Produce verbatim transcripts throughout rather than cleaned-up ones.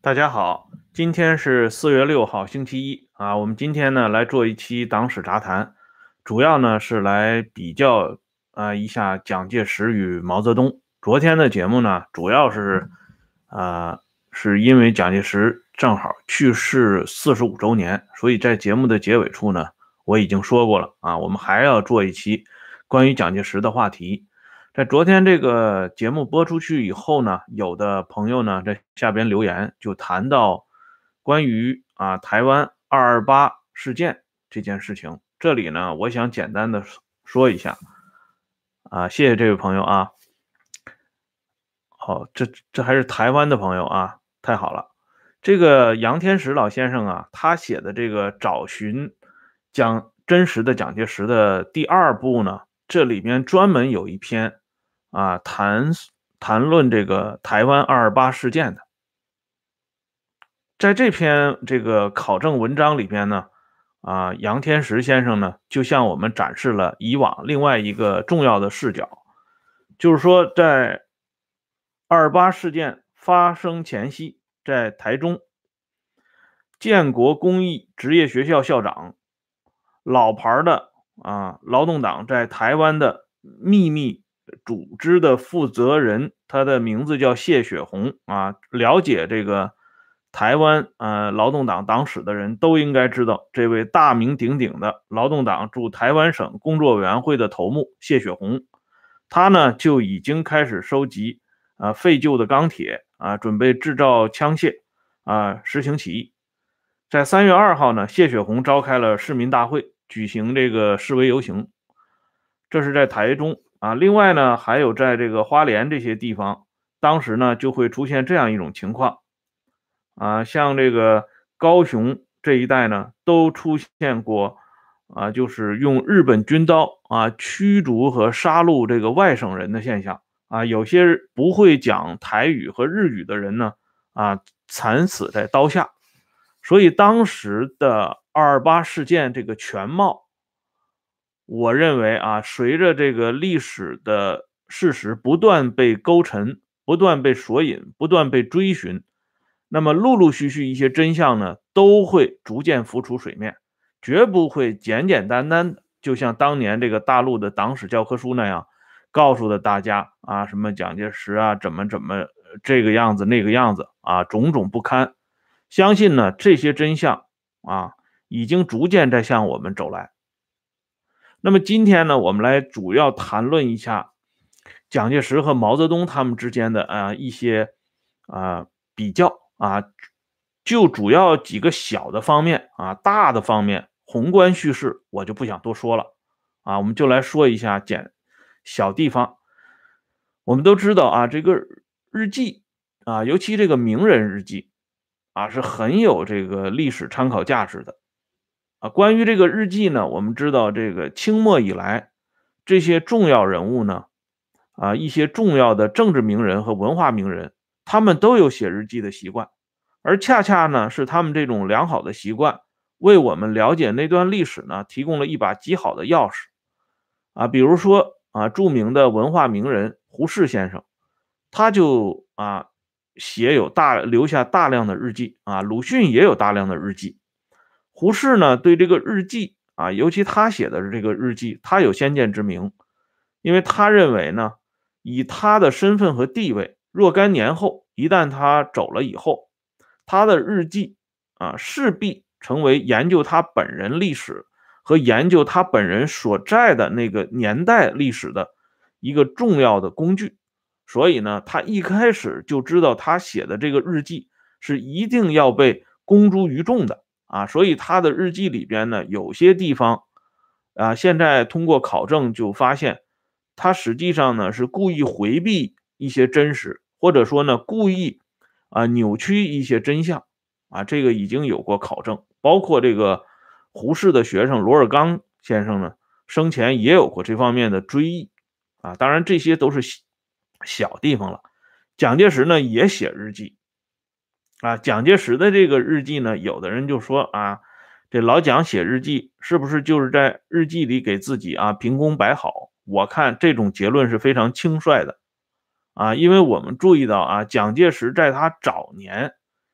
大家好，今天是四月六号，星期一啊。我们今天呢来做一期党史杂谈，主要呢是来比较啊一下蒋介石与毛泽东。昨天的节目呢，主要是啊是因为蒋介石正好去世四十五周年，所以在节目的结尾处呢，我已经说过了啊，我们还要做一期关于蒋介石的话题。在昨天这个节目播出去以后呢，有的朋友呢在下边留言就谈到关于啊台湾二二八事件这件事情。这里呢，我想简单的说一下啊，谢谢这位朋友啊。好，这这还是台湾的朋友啊，太好了。这个杨天石老先生啊，他写的这个找寻蒋真实的蒋介石的第二部呢，这里面专门有一篇啊谈谈论这个台湾二二八事件的。在这篇这个考证文章里边呢，啊杨天石先生呢就向我们展示了以往另外一个重要的视角，就是说在二二八事件发生前夕，在台中建国公益职业学校校长，老牌的啊劳动党在台湾的秘密组织的负责人，他的名字叫谢雪红啊。了解这个台湾呃劳动党党史的人都应该知道，这位大名鼎鼎的劳动党驻台湾省工作委员会的头目谢雪红，他呢就已经开始收集啊废旧的钢铁啊，准备制造枪械啊，实行起义。在三月二号呢，谢雪红召开了市民大会，举行这个示威游行，这是在台中啊。另外呢，还有在这个花莲这些地方，当时呢就会出现这样一种情况啊，像这个高雄这一带呢，都出现过啊，就是用日本军刀啊驱逐和杀戮这个外省人的现象啊。有些不会讲台语和日语的人呢啊，惨死在刀下。所以当时的二二八事件这个全貌，我认为啊，随着这个历史的事实不断被勾陈、不断被索引、不断被追寻，那么陆陆续续一些真相呢，都会逐渐浮出水面，绝不会简简单单的，就像当年这个大陆的党史教科书那样，告诉了大家啊，什么蒋介石啊，怎么怎么这个样子那个样子啊，种种不堪。相信呢，这些真相啊，已经逐渐在向我们走来。那么今天呢，我们来主要谈论一下蒋介石和毛泽东他们之间的啊一些啊比较啊，就主要几个小的方面啊，大的方面宏观叙事我就不想多说了啊，我们就来说一下简小地方。我们都知道啊，这个日记啊，尤其这个名人日记啊，是很有这个历史参考价值的。啊，关于这个日记呢，我们知道这个清末以来，这些重要人物呢，啊，一些重要的政治名人和文化名人，他们都有写日记的习惯，而恰恰呢，是他们这种良好的习惯，为我们了解那段历史呢，提供了一把极好的钥匙。啊，比如说啊，著名的文化名人胡适先生，他就啊写有大留下大量的日记啊，鲁迅也有大量的日记。胡适呢，对这个日记啊，尤其他写的这个日记，他有先见之明，因为他认为呢，以他的身份和地位，若干年后，一旦他走了以后，他的日记啊，势必成为研究他本人历史和研究他本人所在的那个年代历史的一个重要的工具。所以呢，他一开始就知道他写的这个日记是一定要被公诸于众的。啊，所以他的日记里边呢，有些地方啊，现在通过考证就发现，他实际上呢是故意回避一些真实，或者说呢故意啊扭曲一些真相啊，这个已经有过考证，包括这个胡适的学生罗尔刚先生呢，生前也有过这方面的追忆啊，当然这些都是小地方了。蒋介石呢也写日记。啊，蒋介石的这个日记呢，有的人就说啊，这老蒋写日记是不是就是在日记里给自己啊凭功摆好？我看这种结论是非常轻率的啊，因为我们注意到啊，蒋介石在他早年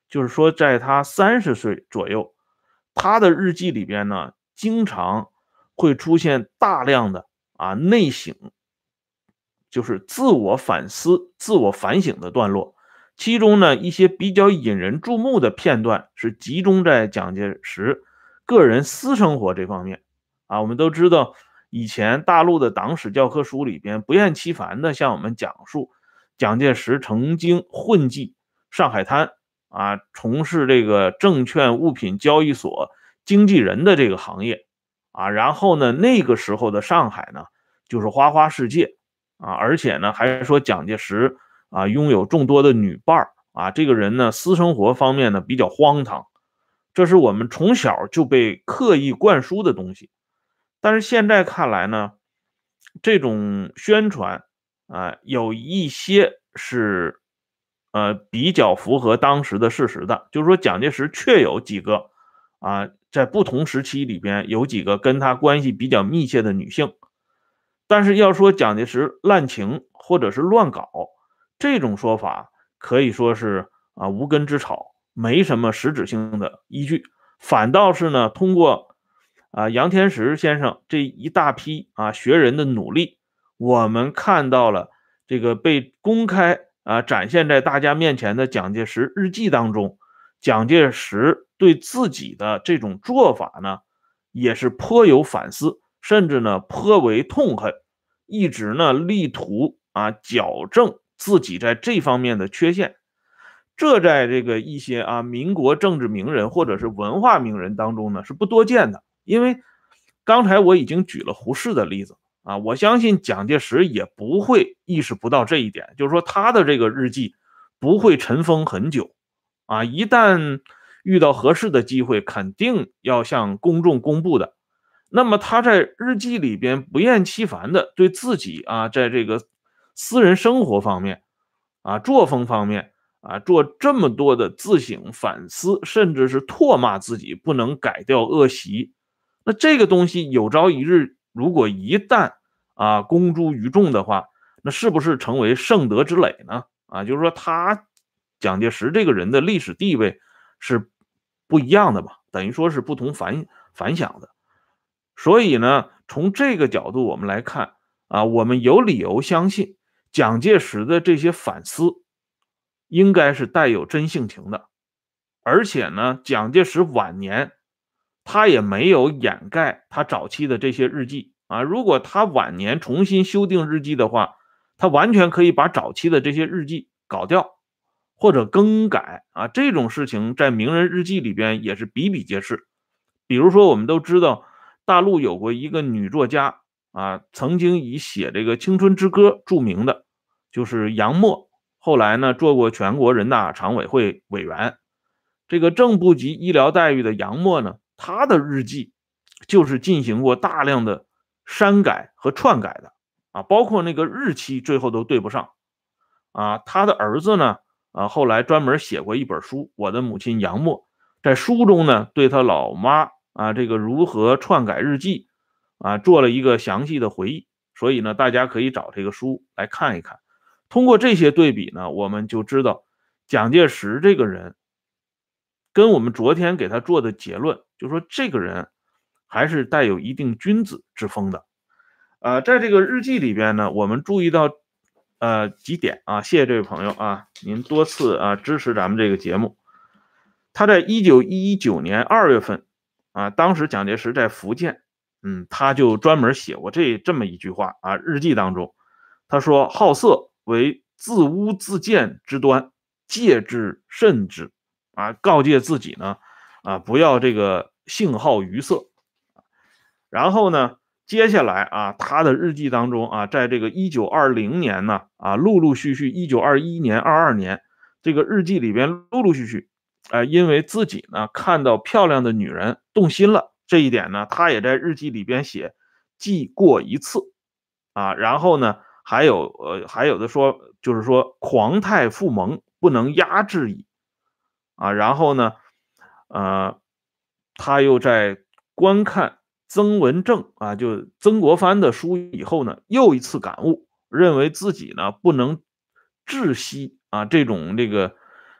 就是说在他三十岁左右，他的日记里边呢，经常会出现大量的啊内省，就是自我反思、自我反省的段落。其中呢，一些比较引人注目的片段是集中在蒋介石个人私生活这方面。啊，我们都知道，以前大陆的党史教科书里边不厌其烦的向我们讲述，蒋介石曾经混迹上海滩，啊，从事这个证券物品交易所经纪人的这个行业。啊，然后呢，那个时候的上海呢，就是花花世界。啊，而且呢，还说蒋介石啊拥有众多的女伴儿。啊，这个人呢，私生活方面呢比较荒唐，这是我们从小就被刻意灌输的东西。但是现在看来呢，这种宣传啊，有一些是呃比较符合当时的事实的，就是说蒋介石确有几个啊，在不同时期里边有几个跟他关系比较密切的女性。但是要说蒋介石滥情或者是乱搞，这种说法可以说是啊无根之草，没什么实质性的依据。反倒是呢，通过啊杨天石先生这一大批啊学人的努力，我们看到了这个被公开啊展现在大家面前的蒋介石日记当中，蒋介石对自己的这种做法呢，也是颇有反思，甚至呢颇为痛恨，一直呢力图啊矫正自己在这方面的缺陷。这在这个一些啊民国政治名人或者是文化名人当中呢是不多见的。因为刚才我已经举了胡适的例子啊，我相信蒋介石也不会意识不到这一点，就是说他的这个日记不会尘封很久啊，一旦遇到合适的机会，肯定要向公众公布的。那么他在日记里边不厌其烦的对自己啊，在这个私人生活方面啊、作风方面啊，做这么多的自省反思，甚至是唾骂自己不能改掉恶习。那这个东西有朝一日，如果一旦啊公诸于众的话，那是不是成为圣德之累呢？啊，就是说他蒋介石这个人的历史地位是不一样的吧，等于说是不同凡凡响的。所以呢，从这个角度我们来看啊，我们有理由相信蒋介石的这些反思应该是带有真性情的。而且呢，蒋介石晚年他也没有掩盖他早期的这些日记啊。如果他晚年重新修订日记的话，他完全可以把早期的这些日记搞掉或者更改啊。这种事情在名人日记里边也是比比皆是。比如说，我们都知道大陆有过一个女作家啊，曾经以写这个《青春之歌》著名的，就是杨沫。后来呢，做过全国人大常委会委员。这个正部级医疗待遇的杨沫呢，他的日记就是进行过大量的删改和篡改的啊，包括那个日期最后都对不上啊。他的儿子呢，啊，后来专门写过一本书《我的母亲杨沫》，在书中呢，对他老妈啊这个如何篡改日记啊做了一个详细的回忆。所以呢，大家可以找这个书来看一看。通过这些对比呢，我们就知道蒋介石这个人跟我们昨天给他做的结论，就是说这个人还是带有一定君子之风的。呃，在这个日记里边呢，我们注意到呃几点啊，谢谢这位朋友啊，您多次啊支持咱们这个节目。他在一九一九年二月份啊，当时蒋介石在福建，嗯，他就专门写过这这么一句话啊，日记当中他说：好色为自污自贱之端，戒之慎之。啊，告诫自己呢，啊，不要这个性好于色。然后呢，接下来啊，他的日记当中啊，在这个一九二零年呢，啊，陆陆续续，一九二一年、二二年，这个日记里边陆陆续续，啊，因为自己呢看到漂亮的女人动心了，这一点呢，他也在日记里边写，记过一次，啊，然后呢，还有呃，还有的说，就是说狂态复萌，不能压制矣。啊，然后呢，呃，他又在观看曾文正啊，就曾国藩的书以后呢，又一次感悟，认为自己呢不能窒息啊这种这个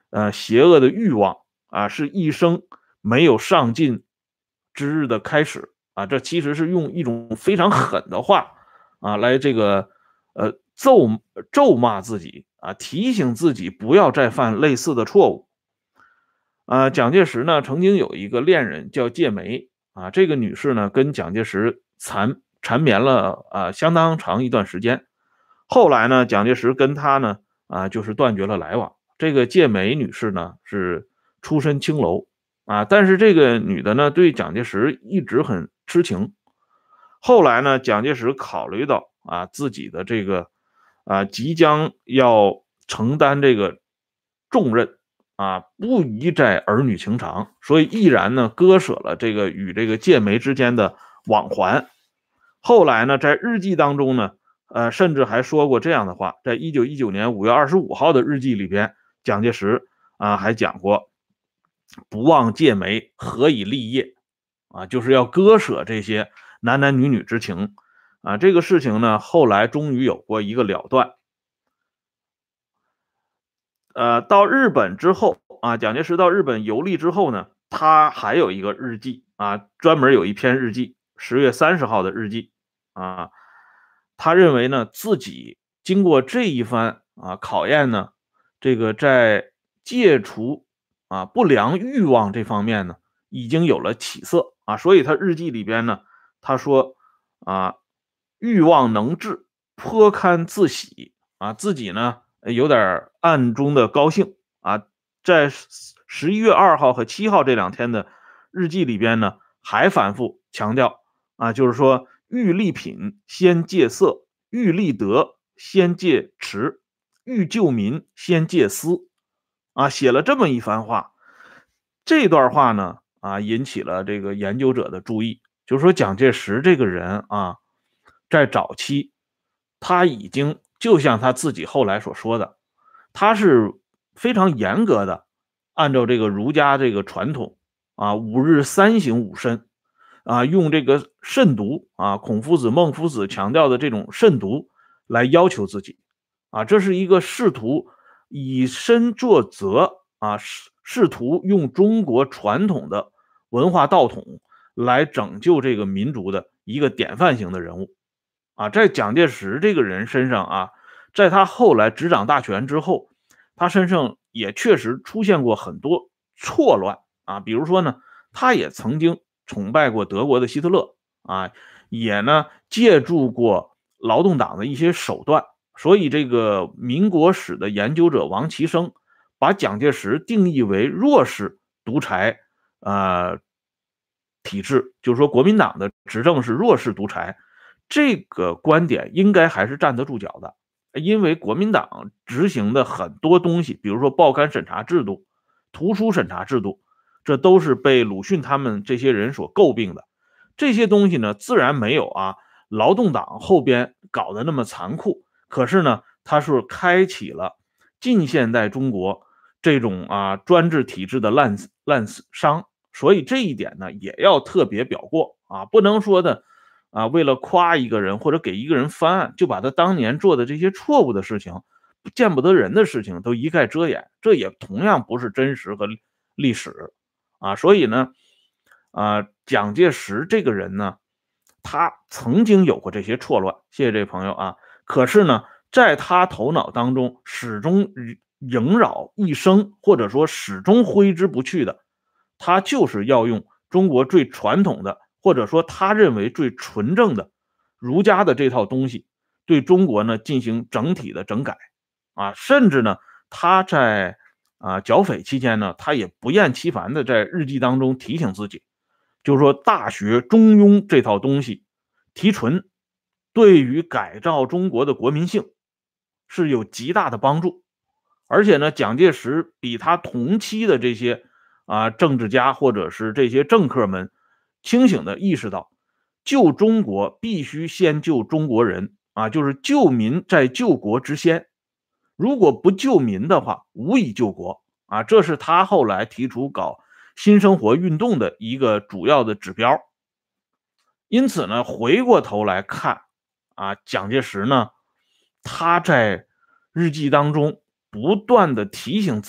呃邪恶的欲望啊，是一生没有上进之日的开始啊。这其实是用一种非常狠的话啊来这个呃咒咒骂自己啊，提醒自己不要再犯类似的错误。啊，蒋介石呢曾经有一个恋人叫介梅啊，这个女士呢跟蒋介石缠缠绵了啊相当长一段时间。后来呢，蒋介石跟她呢啊就是断绝了来往。这个介梅女士呢是出身青楼啊，但是这个女的呢对蒋介石一直很痴情。后来呢，蒋介石考虑到啊自己的这个啊即将要承担这个重任啊，不宜在儿女情长，所以毅然呢割舍了这个与这个介梅之间的往还。后来呢，在日记当中呢，呃，甚至还说过这样的话，在一九一九年五月二十五号的日记里边，蒋介石啊还讲过，不忘介梅，何以立业啊，就是要割舍这些男男女女之情啊。这个事情呢，后来终于有过一个了断。呃，到日本之后啊，蒋介石到日本游历之后呢，他还有一个日记啊，专门有一篇日记，十月三十号的日记啊。他认为呢，自己经过这一番啊考验呢，这个在戒除啊不良欲望这方面呢，已经有了起色啊，所以他日记里边呢，他说啊，欲望能治，颇堪自喜啊，自己呢有点暗中的高兴啊。在十一月二号和七号这两天的日记里边呢，还反复强调啊，就是说欲立品先戒色，欲立德先戒持，欲救民先戒私啊，写了这么一番话。这段话呢啊引起了这个研究者的注意，就是说蒋介石这个人啊，在早期他已经就像他自己后来所说的，他是非常严格的按照这个儒家这个传统啊，五日三省吾身啊，用这个慎独啊，孔夫子、孟夫子强调的这种慎独来要求自己啊，这是一个试图以身作则啊，试试图用中国传统的文化道统来拯救这个民族的一个典范型的人物啊。在蒋介石这个人身上啊，在他后来执掌大权之后，他身上也确实出现过很多错乱啊，比如说呢，他也曾经崇拜过德国的希特勒啊，也呢借助过劳动党的一些手段。所以这个民国史的研究者王其生把蒋介石定义为弱势独裁呃体制，就是说国民党的执政是弱势独裁，这个观点应该还是站得住脚的。因为国民党执行的很多东西，比如说报刊审查制度、图书审查制度，这都是被鲁迅他们这些人所诟病的。这些东西呢，自然没有啊劳动党后边搞得那么残酷，可是呢，它是开启了近现代中国这种啊专制体制的滥滥觞，所以这一点呢，也要特别表过啊，不能说的啊，为了夸一个人或者给一个人翻案，就把他当年做的这些错误的事情、见不得人的事情都一概遮掩，这也同样不是真实和历史啊。所以呢，啊，蒋介石这个人呢，他曾经有过这些错乱，谢谢这位朋友啊。可是呢，在他头脑当中始终萦绕一生，或者说始终挥之不去的，他就是要用中国最传统的，或者说他认为最纯正的儒家的这套东西，对中国呢进行整体的整改啊，甚至呢他在啊剿匪期间呢，他也不厌其烦的在日记当中提醒自己，就是说大学中庸这套东西提纯，对于改造中国的国民性是有极大的帮助。而且呢，蒋介石比他同期的这些啊政治家或者是这些政客们清醒的意识到，救中国必须先救中国人啊，就是救民在救国之先。如果不救民的话，无以救国啊，这是他后来提出搞新生活运动的一个主要的指标。因此呢，回过头来看啊，蒋介石呢，他在日记当中不断的提醒自己，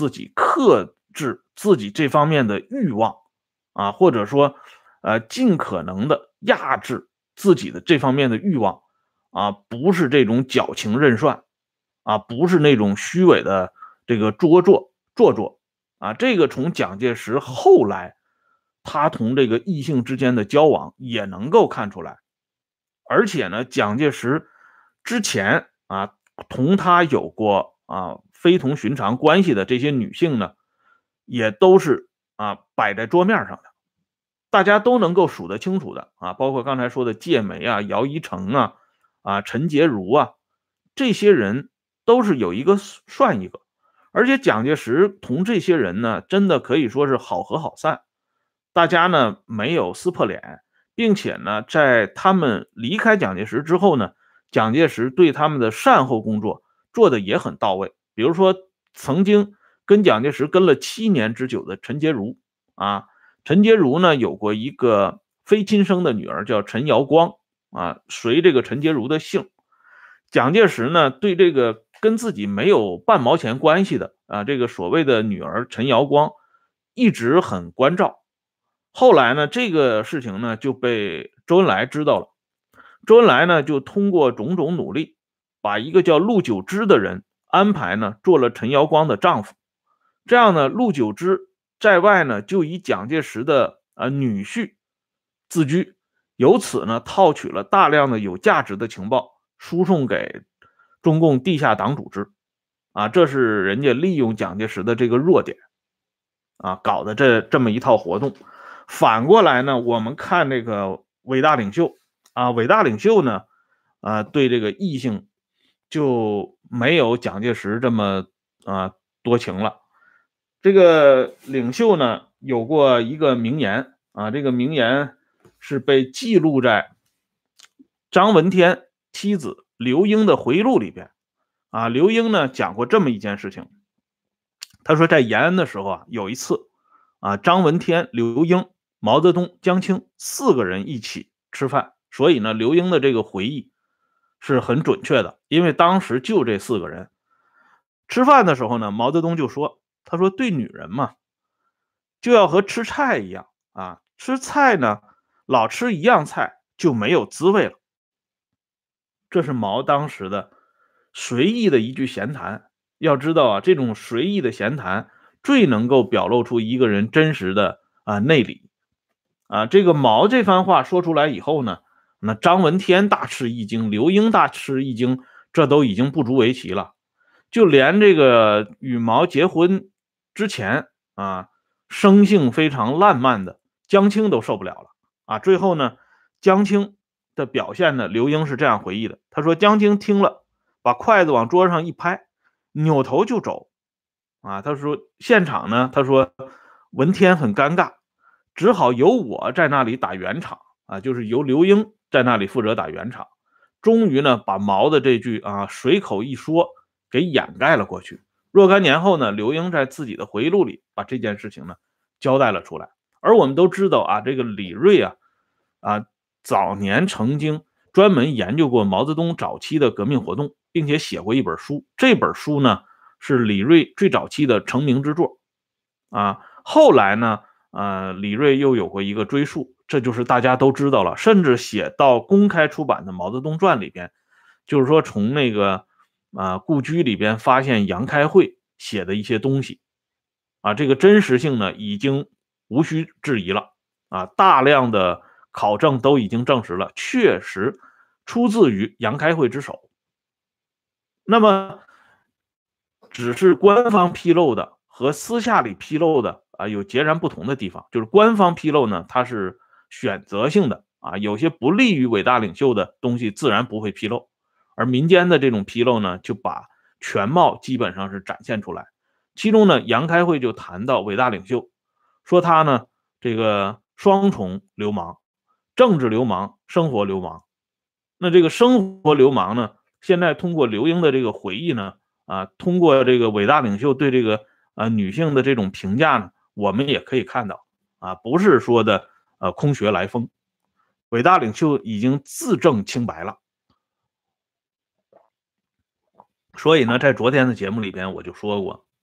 克制自己这方面的欲望啊，或者说呃尽可能的压制自己的这方面的欲望啊，不是这种矫情任涮啊，不是那种虚伪的这个做作做作啊。这个从蒋介石后来他同这个异性之间的交往也能够看出来。而且呢，蒋介石之前啊同他有过啊非同寻常关系的这些女性呢，也都是啊摆在桌面上的，大家都能够数得清楚的啊，包括刚才说的芥梅啊、姚一成啊、啊陈洁如啊，这些人都是有一个算一个。而且蒋介石同这些人呢，真的可以说是好合好散，大家呢没有撕破脸，并且呢，在他们离开蒋介石之后呢，蒋介石对他们的善后工作做的也很到位。比如说，曾经跟蒋介石跟了七年之久的陈洁如啊，陈洁如呢有过一个非亲生的女儿叫陈瑶光啊，随这个陈洁如的姓。蒋介石呢对这个跟自己没有半毛钱关系的啊这个所谓的女儿陈瑶光一直很关照。后来呢，这个事情呢就被周恩来知道了。周恩来呢就通过种种努力，把一个叫陆九之的人安排呢做了陈瑶光的丈夫。这样呢，陆九之在外呢就以蒋介石的呃女婿自居，由此呢套取了大量的有价值的情报，输送给中共地下党组织。啊，这是人家利用蒋介石的这个弱点啊搞的这这么一套活动。反过来呢，我们看这个伟大领袖啊，伟大领袖呢，啊，对这个异性就没有蒋介石这么啊多情了。这个领袖呢有过一个名言啊，这个名言是被记录在张闻天妻子刘英的回忆录里边啊。刘英呢讲过这么一件事情，他说在延安的时候啊，有一次啊，张闻天、刘英、毛泽东、江青四个人一起吃饭，所以呢，刘英的这个回忆是很准确的，因为当时就这四个人吃饭的时候呢，毛泽东就说：“他说对女人嘛，就要和吃菜一样啊，吃菜呢，老吃一样菜就没有滋味了。”这是毛当时的随意的一句闲谈。要知道啊，这种随意的闲谈最能够表露出一个人真实的啊内里啊。这个毛这番话说出来以后呢，那张闻天大吃一惊，刘英大吃一惊，这都已经不足为奇了。就连这个与毛结婚之前啊，生性非常烂漫的江青都受不了了啊。最后呢，江青的表现呢，刘英是这样回忆的，他说江青听了，把筷子往桌上一拍，扭头就走啊。他说现场呢，他说闻天很尴尬，只好由我在那里打圆场啊，就是由刘英在那里负责打圆场。终于呢，把毛的这句啊随口一说给掩盖了过去。若干年后呢，刘英在自己的回忆录里把这件事情呢交代了出来。而我们都知道啊，这个李锐啊啊早年曾经专门研究过毛泽东早期的革命活动，并且写过一本书。这本书呢是李锐最早期的成名之作啊。后来呢，呃，李锐又有过一个追溯，这就是大家都知道了，甚至写到公开出版的《毛泽东传》里边，就是说从那个啊、呃、故居里边发现杨开慧写的一些东西啊，这个真实性呢已经无需质疑了啊，大量的考证都已经证实了，确实出自于杨开慧之手。那么只是官方披露的和私下里披露的啊有截然不同的地方，就是官方披露呢，它是选择性的啊，有些不利于伟大领袖的东西自然不会披露，而民间的这种披露呢，就把全貌基本上是展现出来。其中呢，杨开慧就谈到伟大领袖，说他呢这个双重流氓，政治流氓，生活流氓。那这个生活流氓呢，现在通过刘英的这个回忆呢，啊，通过这个伟大领袖对这个啊女性的这种评价呢，我们也可以看到啊，不是说的呃空穴来风，伟大领袖已经自证清白了。所以呢，在昨天的节目里边我就说过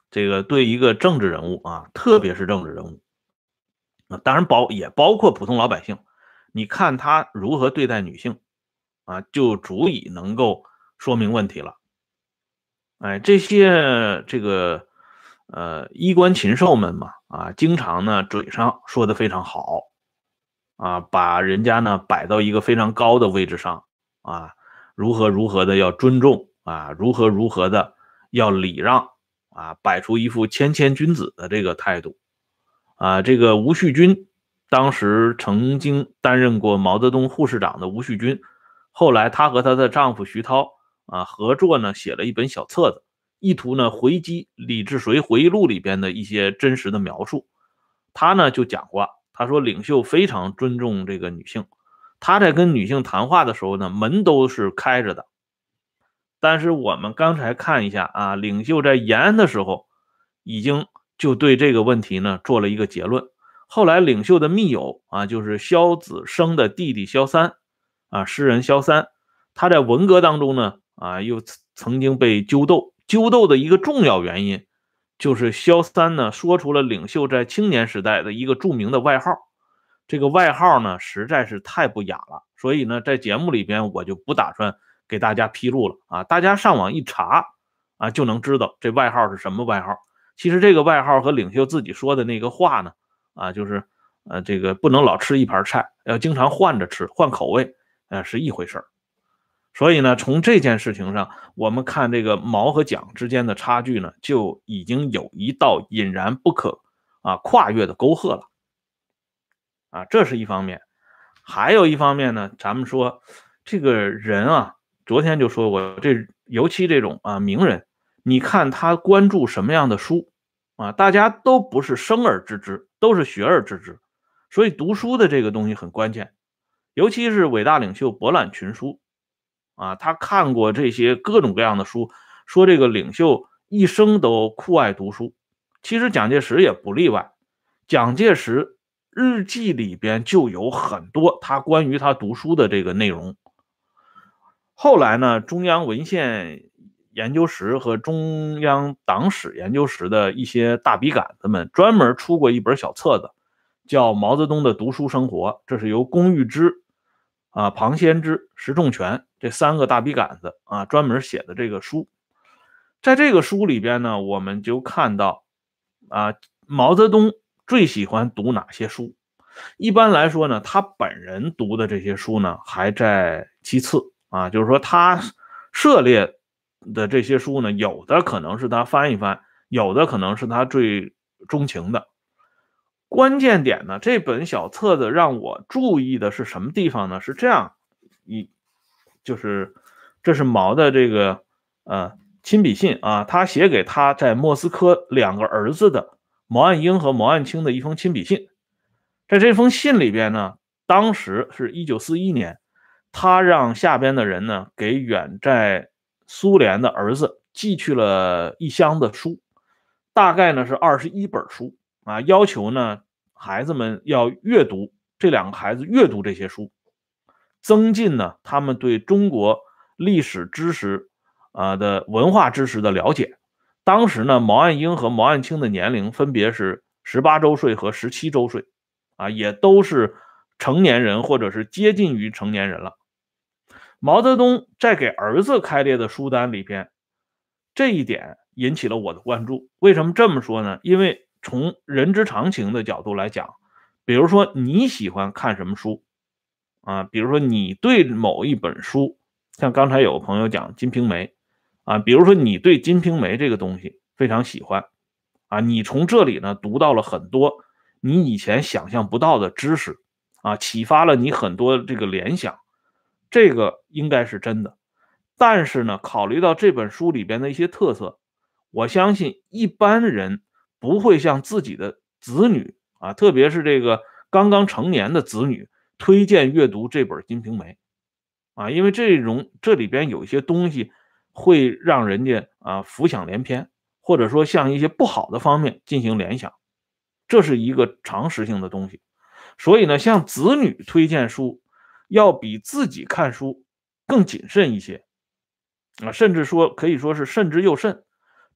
这个对一个政治人物啊，特别是政治人物，啊，当然包也包括普通老百姓，你看他如何对待女性啊，就足以能够说明问题了。哎，这些这个呃衣冠禽兽们嘛，啊，经常呢嘴上说的非常好，啊，把人家呢摆到一个非常高的位置上，啊，如何如何的要尊重啊，如何如何的要礼让啊，摆出一副谦谦君子的这个态度啊。这个吴旭君当时曾经担任过毛泽东护士长的吴旭君，后来她和她的丈夫徐涛啊合作呢写了一本小册子，意图呢回击李志绥回忆录里边的一些真实的描述。他呢就讲过，他说领袖非常尊重这个女性，他在跟女性谈话的时候呢，门都是开着的。但是我们刚才看一下啊，领袖在延安的时候，已经就对这个问题呢做了一个结论。后来领袖的密友啊，就是萧子升的弟弟萧三啊，诗人萧三，他在文革当中呢啊，又曾经被揪斗，揪斗的一个重要原因。就是萧三呢说出了领袖在青年时代的一个著名的外号，这个外号呢实在是太不雅了，所以呢在节目里边我就不打算给大家披露了啊，大家上网一查啊就能知道这外号是什么外号。其实这个外号和领袖自己说的那个话呢啊就是呃这个不能老吃一盘菜，要经常换着吃，换口味，呃是一回事儿。所以呢，从这件事情上，我们看这个毛和蒋之间的差距呢，就已经有一道隐然不可啊跨越的沟壑了啊，这是一方面。还有一方面呢，咱们说这个人啊，昨天就说过，这尤其这种啊名人，你看他关注什么样的书啊，大家都不是生而知之，都是学而知之，所以读书的这个东西很关键，尤其是伟大领袖博览群书。啊，他看过这些各种各样的书，说这个领袖一生都酷爱读书。其实蒋介石也不例外，蒋介石日记里边就有很多他关于他读书的这个内容。后来呢，中央文献研究室和中央党史研究室的一些大笔杆子们专门出过一本小册子，叫《毛泽东的读书生活》，这是由龚玉芝啊、庞先之、石仲全这三个大笔杆子啊专门写的这个书。在这个书里边呢，我们就看到啊，毛泽东最喜欢读哪些书。一般来说呢，他本人读的这些书呢，还在其次啊，就是说他涉猎的这些书呢，有的可能是他翻一翻，有的可能是他最钟情的。关键点呢，这本小册子让我注意的是什么地方呢？是这样，一就是这是毛的这个呃亲笔信啊，他写给他在莫斯科两个儿子的毛岸英和毛岸青的一封亲笔信。在这封信里边呢，当时是一九四一年，他让下边的人呢给远在苏联的儿子寄去了一箱的书，大概呢是二十一本书。啊，要求呢孩子们要阅读，这两个孩子阅读这些书，增进呢他们对中国历史知识啊的文化知识的了解。当时呢，毛岸英和毛岸青的年龄分别是十八周岁和十七周岁，啊，也都是成年人或者是接近于成年人了。毛泽东在给儿子开列的书单里边，这一点引起了我的关注。为什么这么说呢？因为从人之常情的角度来讲，比如说你喜欢看什么书啊？比如说你对某一本书，像刚才有个朋友讲《金瓶梅》啊，比如说你对《金瓶梅》这个东西非常喜欢啊，你从这里呢读到了很多你以前想象不到的知识啊，启发了你很多这个联想，这个应该是真的。但是呢，考虑到这本书里边的一些特色，我相信一般人不会向自己的子女啊，特别是这个刚刚成年的子女推荐阅读这本《金瓶梅》啊，因为这种这里边有一些东西会让人家啊浮想联翩，或者说向一些不好的方面进行联想，这是一个常识性的东西。所以呢，向子女推荐书要比自己看书更谨慎一些啊，甚至说可以说是慎之又慎。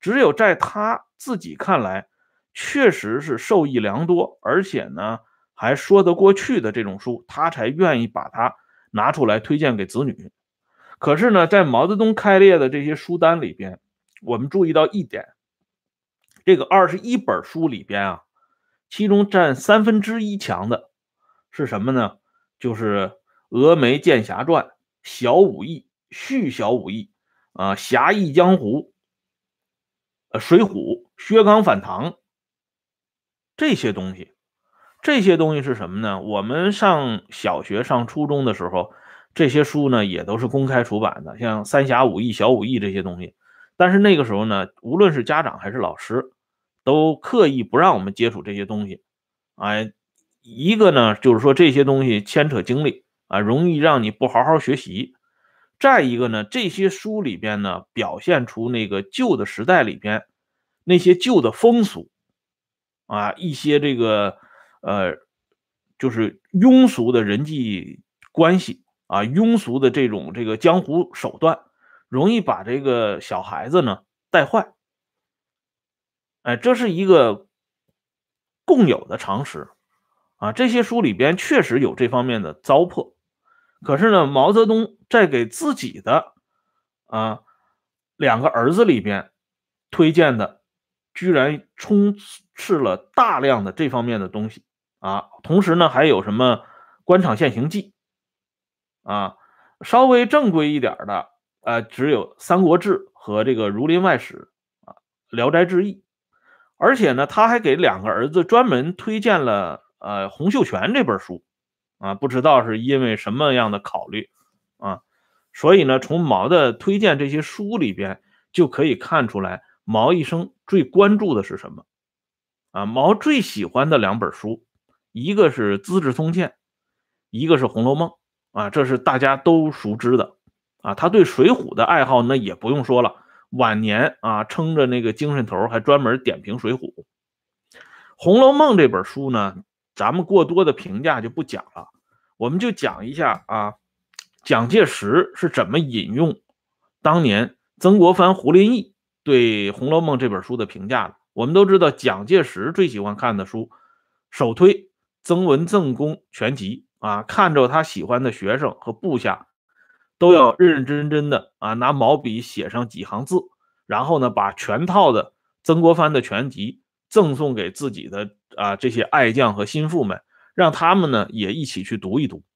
只有在他自己看来，确实是受益良多，而且呢还说得过去的这种书，他才愿意把它拿出来推荐给子女。可是呢，在毛泽东开列的这些书单里边，我们注意到一点，这个二十一本书里边啊，其中占三分之一强的是什么呢？就是《峨眉剑侠传》、小武艺、续小武艺啊、侠义江湖、呃、水浒、薛刚反唐这些东西。这些东西是什么呢？我们上小学、上初中的时候，这些书呢也都是公开出版的，像三侠五义、小武艺这些东西。但是那个时候呢，无论是家长还是老师，都刻意不让我们接触这些东西。哎，一个呢就是说这些东西牵扯精力啊，容易让你不好好学习。再一个呢，这些书里边呢表现出那个旧的时代里边那些旧的风俗啊，一些这个呃，就是庸俗的人际关系啊，庸俗的这种这个江湖手段，容易把这个小孩子呢带坏。哎，这是一个共有的常识啊。这些书里边确实有这方面的糟粕，可是呢，毛泽东在给自己的啊两个儿子里边推荐的，居然充斥了大量的这方面的东西啊。同时呢，还有什么《官场现形记》啊，稍微正规一点的，呃，只有《三国志》和这个《儒林外史》啊，《聊斋志异》。而且呢，他还给两个儿子专门推荐了呃《洪秀全》这本书啊，不知道是因为什么样的考虑啊。所以呢，从毛的推荐这些书里边就可以看出来，毛一生最关注的是什么啊？毛最喜欢的两本书，一个是《资治通鉴》，一个是《红楼梦》啊，这是大家都熟知的啊。他对《水浒》的爱好那也不用说了。晚年啊，撑着那个精神头，还专门点评《水浒》。《红楼梦》这本书呢，咱们过多的评价就不讲了，我们就讲一下啊，蒋介石是怎么引用当年曾国藩、胡林翼对《红楼梦》这本书的评价的。我们都知道，蒋介石最喜欢看的书，首推《曾文正公全集》啊，看着他喜欢的学生和部下都要认认真真的啊，拿毛笔写上几行字，然后呢，把全套的曾国藩的全集赠送给自己的啊这些爱将和心腹们，让他们呢也一起去读一读。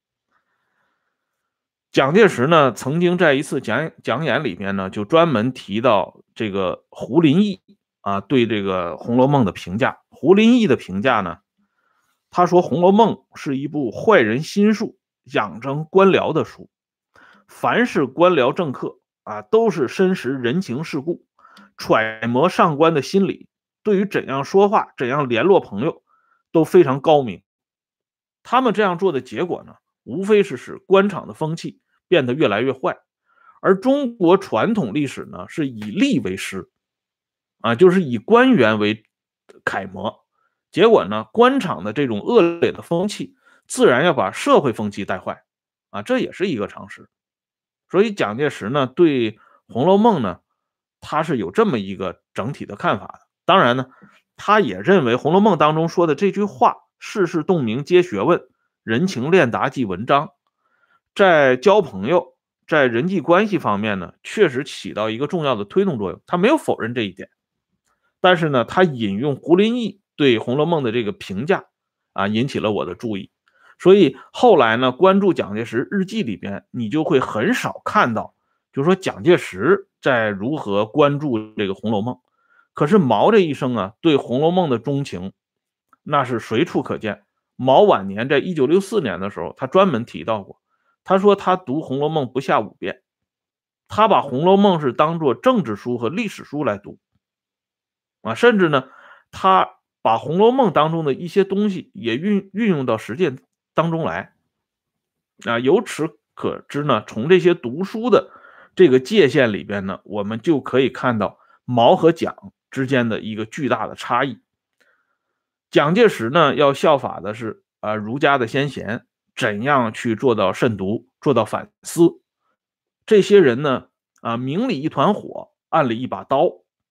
蒋介石呢曾经在一次讲讲演里面呢，就专门提到这个胡林翼啊对这个《红楼梦》的评价。胡林翼的评价呢，他说《红楼梦》是一部坏人心术、养成官僚的书。凡是官僚政客啊，都是深识人情世故，揣摩上官的心理，对于怎样说话、怎样联络朋友都非常高明。他们这样做的结果呢，无非是使官场的风气变得越来越坏。而中国传统历史呢，是以吏为师啊，就是以官员为楷模。结果呢，官场的这种恶劣的风气，自然要把社会风气带坏啊，这也是一个常识。所以蒋介石呢，对《红楼梦》呢，他是有这么一个整体的看法的。当然呢，他也认为《红楼梦》当中说的这句话“世事洞明皆学问，人情练达即文章”，在交朋友、在人际关系方面呢，确实起到一个重要的推动作用。他没有否认这一点，但是呢，他引用胡林翼对《红楼梦》的这个评价啊，引起了我的注意。所以后来呢，关注蒋介石日记里边，你就会很少看到，就是说蒋介石在如何关注这个《红楼梦》。可是毛这一生啊，对《红楼梦》的钟情，那是随处可见。毛晚年在一九六四年的时候，他专门提到过，他说他读《红楼梦》不下五遍，他把《红楼梦》是当作政治书和历史书来读啊，甚至呢，他把《红楼梦》当中的一些东西也运运用到实践当中来啊。由此可知呢，从这些读书的这个界限里边呢，我们就可以看到毛和蒋之间的一个巨大的差异。蒋介石呢，要效法的是啊儒家的先贤，怎样去做到慎独，做到反思。这些人呢，啊明里一团火，暗里一把刀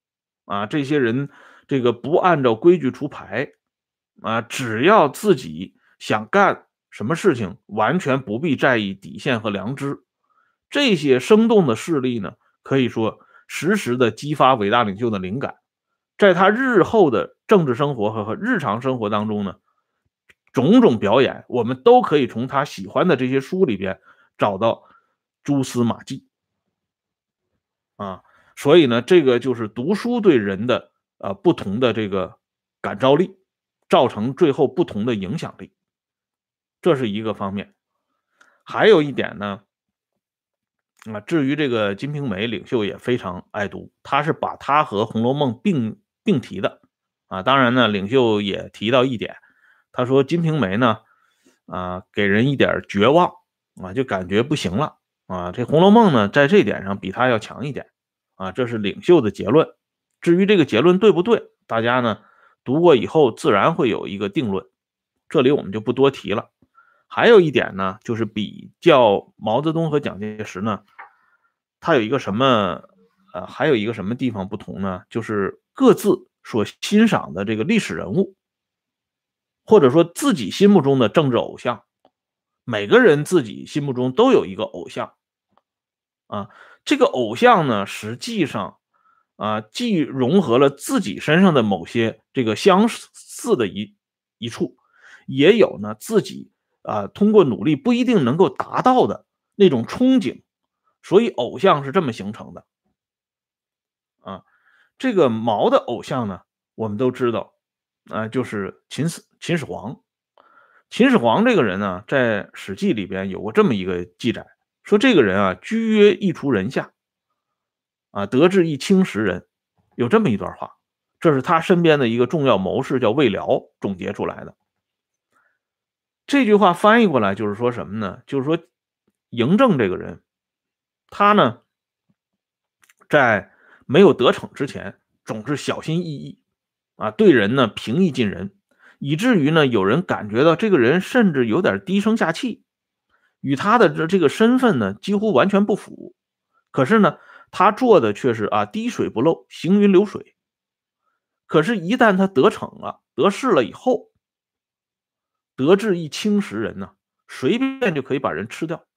啊，这些人这个不按照规矩出牌啊，只要自己想干什么事情，完全不必在意底线和良知。这些生动的事例呢，可以说实时的激发伟大领袖的灵感，在他日后的政治生活和和日常生活当中呢，种种表演我们都可以从他喜欢的这些书里边找到蛛丝马迹啊。所以呢，这个就是读书对人的呃不同的这个感召力，造成最后不同的影响力，这是一个方面。还有一点呢，啊，至于这个《金瓶梅》，领袖也非常爱读，他是把它和《红楼梦》并并提的啊。当然呢，领袖也提到一点，他说《金瓶梅》呢，啊，给人一点绝望啊，就感觉不行了啊。这《红楼梦》呢，在这点上比它要强一点啊，这是领袖的结论。至于这个结论对不对，大家呢读过以后自然会有一个定论，这里我们就不多提了。还有一点呢，就是比较毛泽东和蒋介石呢，他有一个什么呃，还有一个什么地方不同呢？就是各自所欣赏的这个历史人物，或者说自己心目中的政治偶像，每个人自己心目中都有一个偶像啊。这个偶像呢，实际上啊，既融合了自己身上的某些这个相似的一一处，也有呢自己啊通过努力不一定能够达到的那种憧憬，所以偶像是这么形成的啊。这个毛的偶像呢，我们都知道啊，就是秦始秦始皇。秦始皇这个人呢，在《史记》里边有过这么一个记载，说这个人啊，居约一厨人下，啊，得志一清食人，有这么一段话，这是他身边的一个重要谋士叫魏辽总结出来的。这句话翻译过来就是说什么呢？就是说嬴政这个人，他呢在没有得逞之前，总是小心翼翼啊，对人呢平易近人，以至于呢有人感觉到这个人甚至有点低声下气，与他的这这个身份呢几乎完全不符。可是呢，他做的却是啊滴水不漏，行云流水。可是，一旦他得逞了、得势了以后，得志一清食人呢，随便就可以把人吃掉。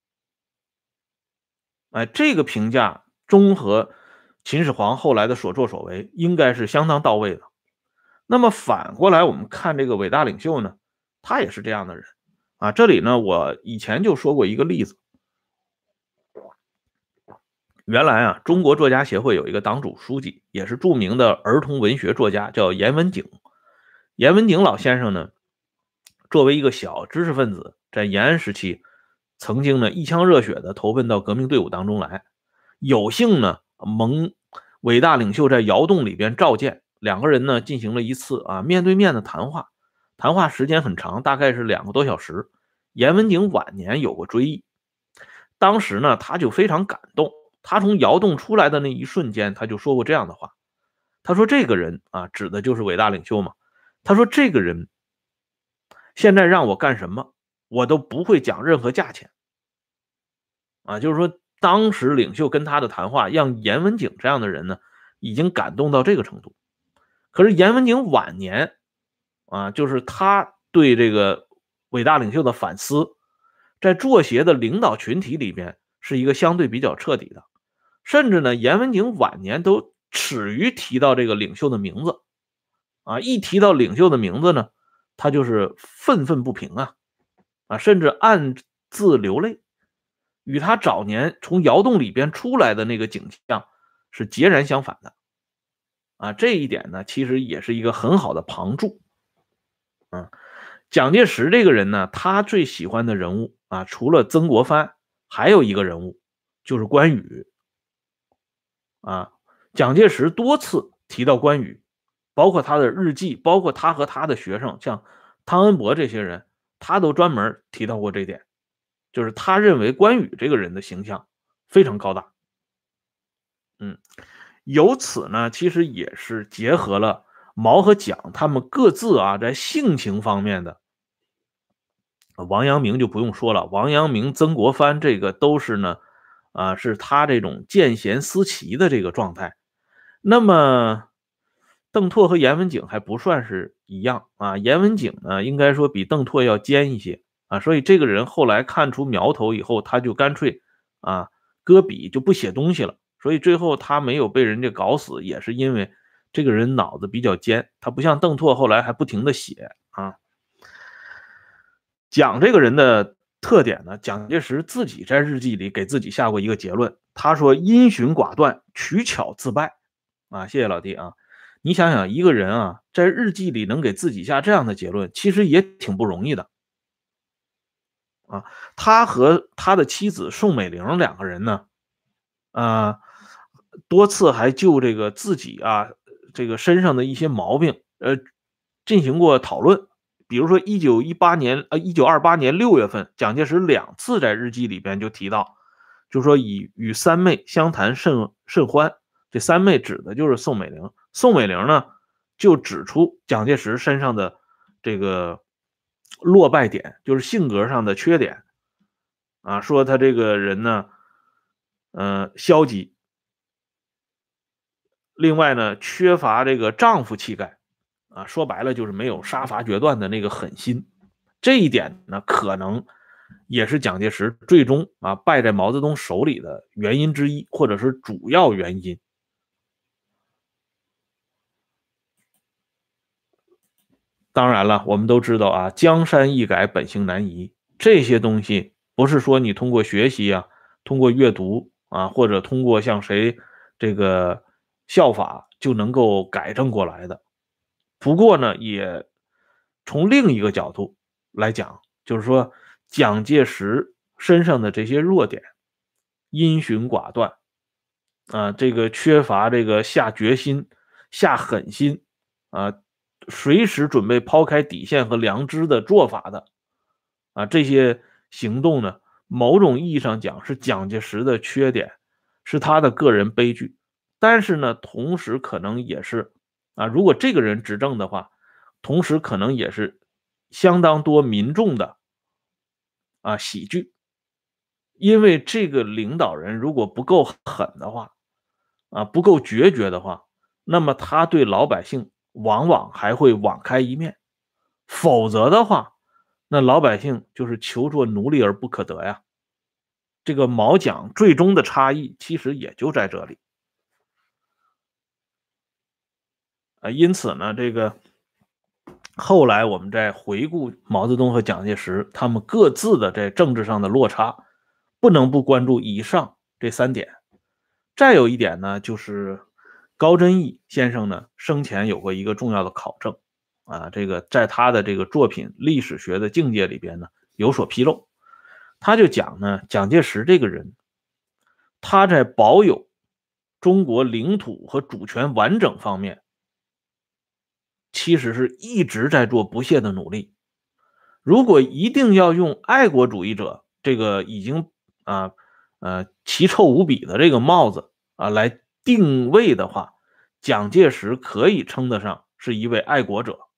哎，这个评价综合秦始皇后来的所作所为，应该是相当到位的。那么反过来，我们看这个伟大领袖呢，他也是这样的人啊。这里呢，我以前就说过一个例子。原来啊，中国作家协会有一个党组书记，也是著名的儿童文学作家，叫严文景。严文景老先生呢，作为一个小知识分子，在延安时期，曾经呢一腔热血的投奔到革命队伍当中来，有幸呢蒙伟大领袖在窑洞里边召见，两个人呢进行了一次啊面对面的谈话，谈话时间很长，大概是两个多小时。严文景晚年有过追忆，当时呢他就非常感动，他从窑洞出来的那一瞬间，他就说过这样的话，他说这个人啊，指的就是伟大领袖嘛，他说这个人现在让我干什么，我都不会讲任何价钱啊。就是说，当时领袖跟他的谈话，让严文景这样的人呢，已经感动到这个程度。可是严文景晚年啊，就是他对这个伟大领袖的反思，在作协的领导群体里边是一个相对比较彻底的，甚至呢，严文景晚年都耻于提到这个领袖的名字啊，一提到领袖的名字呢，他就是愤愤不平啊啊，甚至暗自流泪，与他早年从窑洞里边出来的那个景象是截然相反的啊。这一点呢，其实也是一个很好的旁注啊。蒋介石这个人呢，他最喜欢的人物啊，除了曾国藩，还有一个人物就是关羽啊。蒋介石多次提到关羽，包括他的日记，包括他和他的学生，像汤恩伯这些人，他都专门提到过这点，就是他认为关羽这个人的形象非常高大。嗯，由此呢，其实也是结合了毛和蒋他们各自啊在性情方面的。王阳明就不用说了，王阳明、曾国藩这个都是呢，啊，是他这种见贤思齐的这个状态。 那么邓拓和严文景还不算是一样啊，严文景呢应该说比邓拓要尖一些啊，所以这个人后来看出苗头以后，他就干脆啊搁笔就不写东西了，所以最后他没有被人家搞死，也是因为这个人脑子比较尖，他不像邓拓后来还不停的写啊。讲这个人的特点呢，蒋介石自己在日记里给自己下过一个结论，他说因循寡断，取巧自败啊。谢谢老弟啊。你想想，一个人啊，在日记里能给自己下这样的结论，其实也挺不容易的啊。他和他的妻子宋美龄两个人呢，啊，多次还就这个自己啊，这个身上的一些毛病，呃，进行过讨论。比如说一九一八年，呃，一九二八年六月份，蒋介石两次在日记里边就提到，就说以与三妹相谈甚甚欢。这三妹指的就是宋美龄。宋美龄呢，就指出蒋介石身上的这个落败点，就是性格上的缺点啊，说他这个人呢，呃，消极，另外呢，缺乏这个丈夫气概啊，说白了就是没有杀伐决断的那个狠心。这一点呢，可能也是蒋介石最终啊败在毛泽东手里的原因之一，或者是主要原因。当然了，我们都知道啊，江山易改，本性难移，这些东西不是说你通过学习啊，通过阅读啊，或者通过向谁这个效法就能够改正过来的。不过呢，也从另一个角度来讲，就是说蒋介石身上的这些弱点，因循寡断啊，这个缺乏这个下决心、下狠心啊，随时准备抛开底线和良知的做法的啊，这些行动呢，某种意义上讲是蒋介石的缺点，是他的个人悲剧。但是呢，同时可能也是啊，如果这个人执政的话，同时可能也是相当多民众的啊喜剧，因为这个领导人如果不够狠的话，啊不够决绝的话，那么他对老百姓往往还会网开一面，否则的话，那老百姓就是求做奴隶而不可得呀。这个毛蒋最终的差异其实也就在这里啊，因此呢，这个后来我们再回顾毛泽东和蒋介石他们各自的在政治上的落差，不能不关注以上这三点。再有一点呢，就是高真义先生呢生前有过一个重要的考证啊，这个在他的这个作品《历史学的境界》里边呢有所披露。他就讲呢，蒋介石这个人，他在保有中国领土和主权完整方面，其实是一直在做不懈的努力。如果一定要用爱国主义者这个已经啊呃奇臭无比的这个帽子啊来定位的话，蒋介石可以称得上是一位爱国者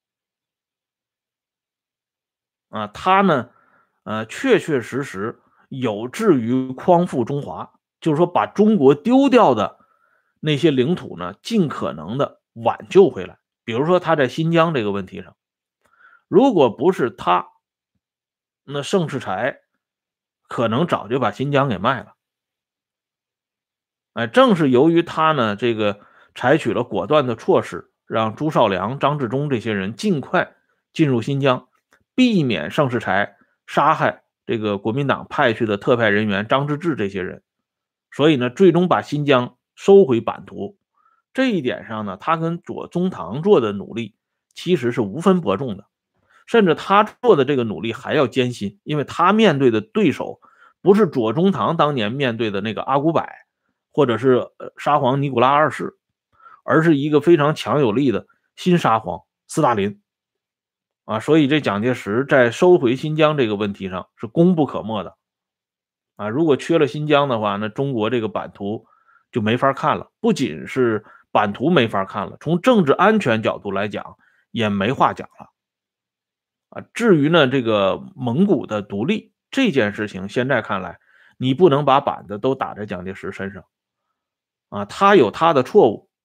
啊。他呢，呃，确确实实有志于匡复中华，就是说把中国丢掉的那些领土呢，尽可能的挽救回来。比如说他在新疆这个问题上，如果不是他，那盛世才可能早就把新疆给卖了。哎，正是由于他呢，这个采取了果断的措施，让朱绍良、张治中这些人尽快进入新疆，避免盛世才杀害这个国民党派去的特派人员张之治这些人，所以呢，最终把新疆收回版图。这一点上呢，他跟左宗棠做的努力其实是无分伯仲的，甚至他做的这个努力还要艰辛，因为他面对的对手不是左宗棠当年面对的那个阿古柏，或者是沙皇尼古拉二世，而是一个非常强有力的新沙皇斯大林啊。所以这蒋介石在收回新疆这个问题上是功不可没的啊。如果缺了新疆的话，那中国这个版图就没法看了，不仅是版图没法看了，从政治安全角度来讲也没话讲了啊。至于呢，这个蒙古的独立这件事情，现在看来，你不能把板子都打在蒋介石身上啊，他有他的错误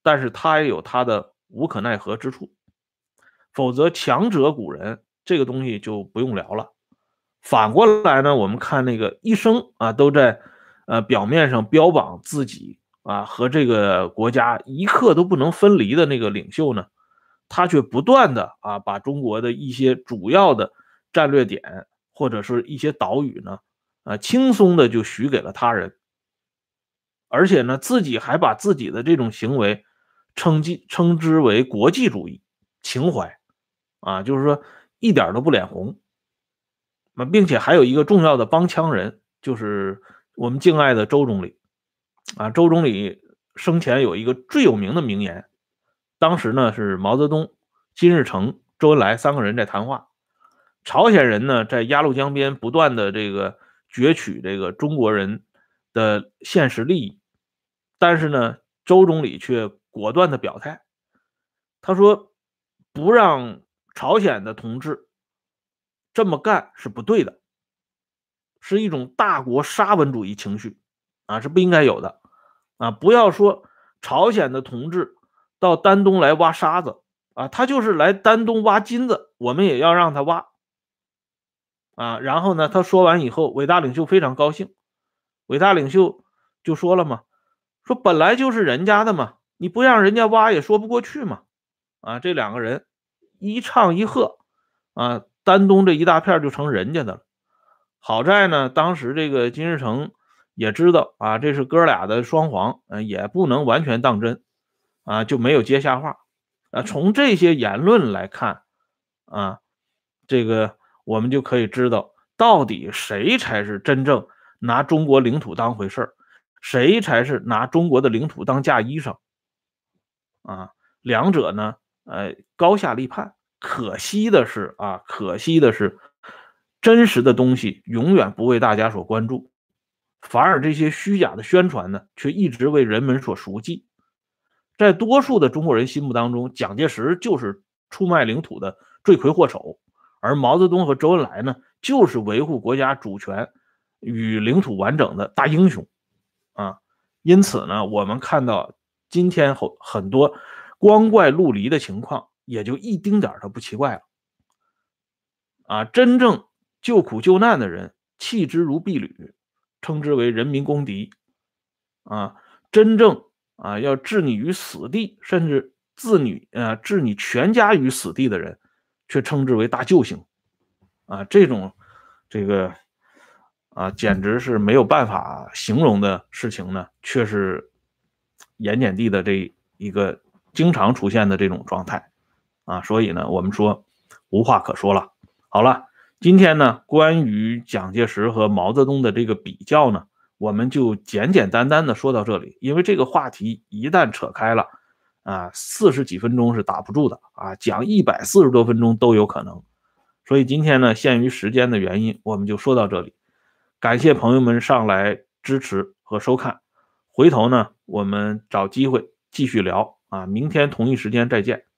但是他也有他的无可奈何之处。否则强者古人这个东西就不用聊了。反过来呢，我们看那个一生啊都在呃表面上标榜自己啊和这个国家一刻都不能分离的那个领袖呢，他却不断的啊把中国的一些主要的战略点或者是一些岛屿呢啊轻松的就许给了他人，而且呢自己还把自己的这种行为称之称之为国际主义情怀啊，就是说一点都不脸红。那并且还有一个重要的帮腔人，就是我们敬爱的周总理啊。周总理生前有一个最有名的名言，当时呢是毛泽东、金日成、周恩来三个人在谈话，朝鲜人呢在鸭绿江边不断的这个攫取这个中国人的现实利益，但是呢周总理却果断的表态，他说不让朝鲜的同志这么干是不对的，是一种大国沙文主义情绪啊，是不应该有的啊！不要说朝鲜的同志到丹东来挖沙子啊，他就是来丹东挖金子，我们也要让他挖啊。然后呢，他说完以后，伟大领袖非常高兴，伟大领袖就说了嘛，说本来就是人家的嘛，你不让人家挖也说不过去嘛。啊，这两个人一唱一和啊，丹东这一大片就成人家的了。好在呢，当时这个金日成也知道啊，这是哥俩的双簧，呃，也不能完全当真啊，就没有接下话。啊，从这些言论来看啊，这个我们就可以知道，到底谁才是真正拿中国领土当回事儿，谁才是拿中国的领土当嫁衣裳啊？两者呢，呃，高下立判。可惜的是啊，可惜的是，真实的东西永远不为大家所关注，反而这些虚假的宣传呢，却一直为人们所熟记。在多数的中国人心目当中，蒋介石就是出卖领土的罪魁祸首，而毛泽东和周恩来呢，就是维护国家主权与领土完整的大英雄啊。因此呢，我们看到今天很很多光怪陆离的情况，也就一丁点都不奇怪了啊。真正救苦救难的人，弃之如敝履，称之为人民公敌啊。真正啊要置你于死地，甚至置你啊置你全家于死地的人，却称之为大救星啊。这种这个啊简直是没有办法形容的事情呢，却是盐碱地的这一个经常出现的这种状态啊。所以呢，我们说无话可说了。好了，今天呢，关于蒋介石和毛泽东的这个比较呢，我们就简简单单的说到这里，因为这个话题一旦扯开了啊，四十几分钟是打不住的啊，讲一百四十多分钟都有可能。所以今天呢，限于时间的原因，我们就说到这里。感谢朋友们上来支持和收看，回头呢，我们找机会继续聊啊，明天同一时间再见。